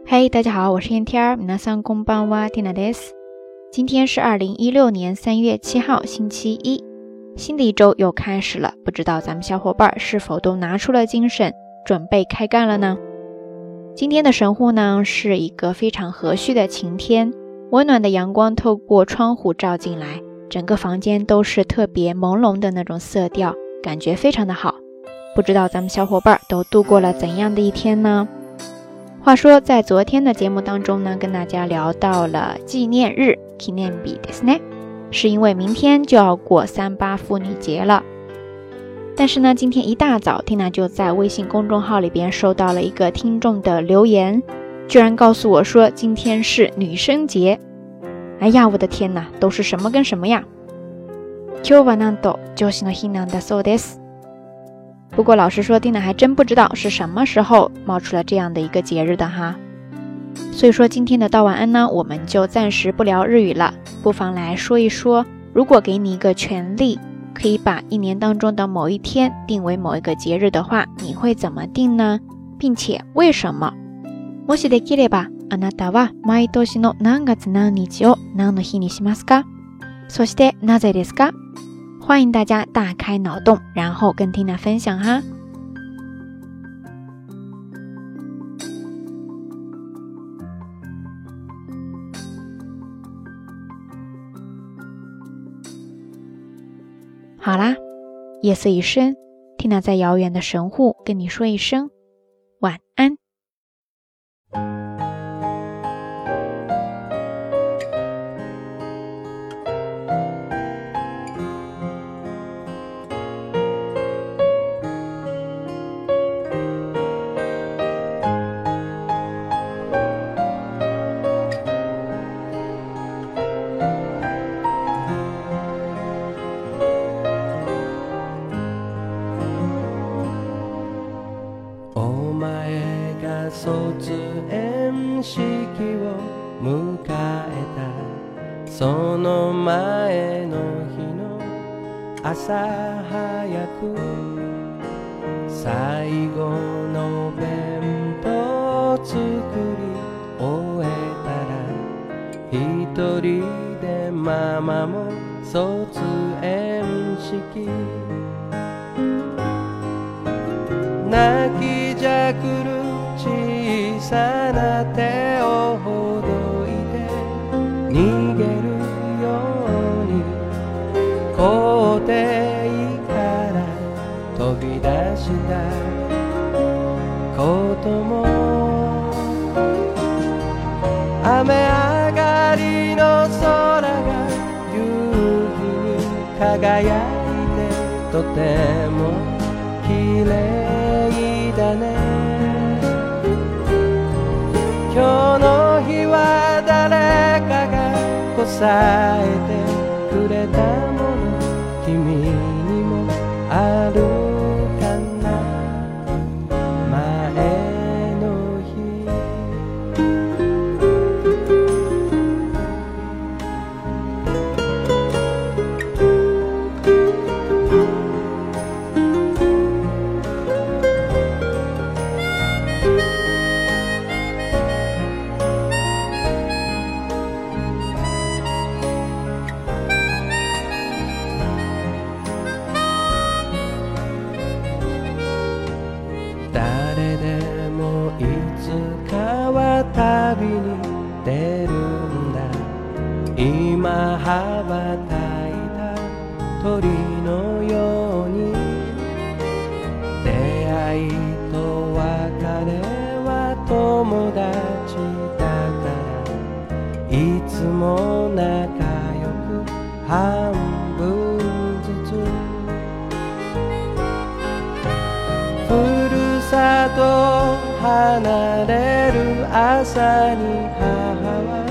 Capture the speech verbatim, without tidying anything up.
嘿、hey, 大家好，我是燕天儿，皆さんこんばんは、ティナです。今天是二零一六年三月七号，星期一，新的一周又开始了，不知道咱们小伙伴是否都拿出了精神，准备开干了呢？今天的神户呢，是一个非常和煦的晴天，温暖的阳光透过窗户照进来，整个房间都是特别朦胧的那种色调，感觉非常的好。不知道咱们小伙伴都度过了怎样的一天呢？话说在昨天的节目当中呢，跟大家聊到了纪念日 Kinenbi ですね，是因为明天就要过三八妇女节了。但是呢，今天一大早 Tina 就在微信公众号里边收到了一个听众的留言，居然告诉我说今天是女生节。哎呀，我的天哪，都是什么跟什么呀。今日はなんと女子の日なんだそうです。不过老实说 Tina 还真不知道是什么时候冒出了这样的一个节日的哈。所以说今天的道晚安呢，我们就暂时不聊日语了，不妨来说一说，如果给你一个权利，可以把一年当中的某一天定为某一个节日的话，你会怎么定呢？并且为什么？もしできれば、あなたは毎年の何月何日を何の日にしますか？そしてなぜですか？欢迎大家大开脑洞，然后跟 Tina 分享哈。好啦，夜色已深 ，Tina 在遥远的神户跟你说一声晚安。 卒園式を迎えたその前の日の朝早く最後の弁当作り終えたら一人でママも卒園式泣きじゃくる小さな手をほどいて逃げるように校庭から飛び出したことも雨上がりの空が夕日に輝いてとても綺麗だね今日の日は誰かがこさえてくれたもの君にもあるかな前の日誰でもいつかは旅に出るんだ今羽ばたいた鳥のように出会いと別れは友達だからいつも仲良く半分ずつふるさと離れる朝に母は